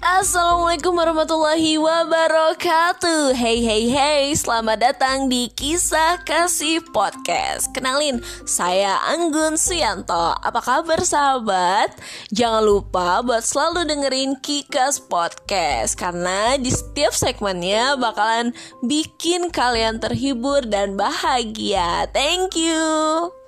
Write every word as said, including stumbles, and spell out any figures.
Assalamualaikum warahmatullahi wabarakatuh. Hey hey hey, selamat datang di Kisah Kasih Podcast. Kenalin, saya Anggun Suyanto. Apa kabar sahabat? Jangan lupa buat selalu dengerin Kikas Podcast, karena di setiap segmennya bakalan bikin kalian terhibur dan bahagia. Thank you.